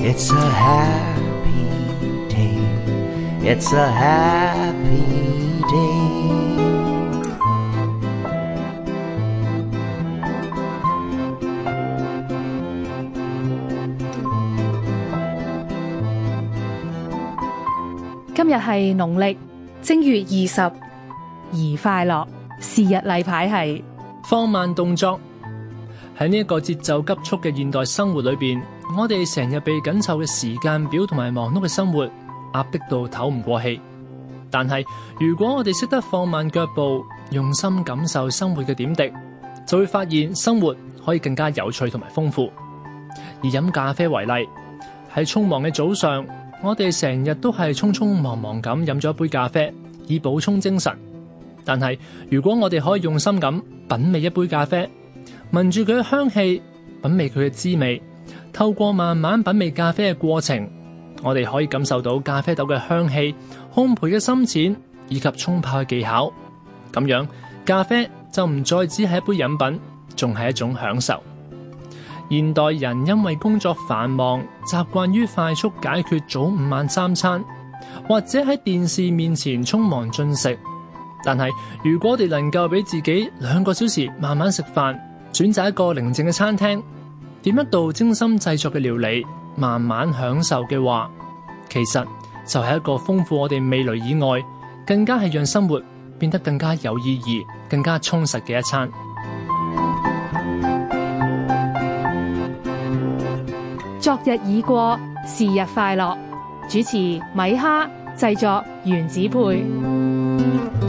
It's a happy day. It's a happy day. 今日係農曆正月20，宜快樂。是日例牌係放慢動作。喺呢一個節奏急速嘅現代生活裏邊，我哋成日被緊湊嘅時間表同埋忙碌嘅生活壓迫到唞唔過氣。但係如果我哋識得放慢腳步，用心感受生活嘅點滴，就會發現生活可以更加有趣同埋豐富。以飲咖啡為例，喺匆忙嘅早上，我哋成日都係匆匆忙忙咁飲咗一杯咖啡，以補充精神。但係如果我哋可以用心咁品味一杯咖啡，聞住佢嘅香氣，品味佢嘅滋味，透過慢慢品味咖啡嘅過程，我哋可以感受到咖啡豆嘅香氣、烘焙嘅深淺以及沖泡嘅技巧。咁樣咖啡就唔再只係一杯飲品，仲係一種享受。現代人因為工作繁忙，習慣於快速解決早午晚三餐，或者喺電視面前匆忙進食。但係如果我哋能夠俾自己2個小時慢慢食飯，選擇一個寧靜嘅餐廳，點一道精心製作嘅料理，慢慢享受嘅話，其實就係一個豐富我哋味蕾以外，更加係讓生活變得更加有意義、更加充實嘅一餐。 昨日已過，是日快樂。主持米哈，製作原子配。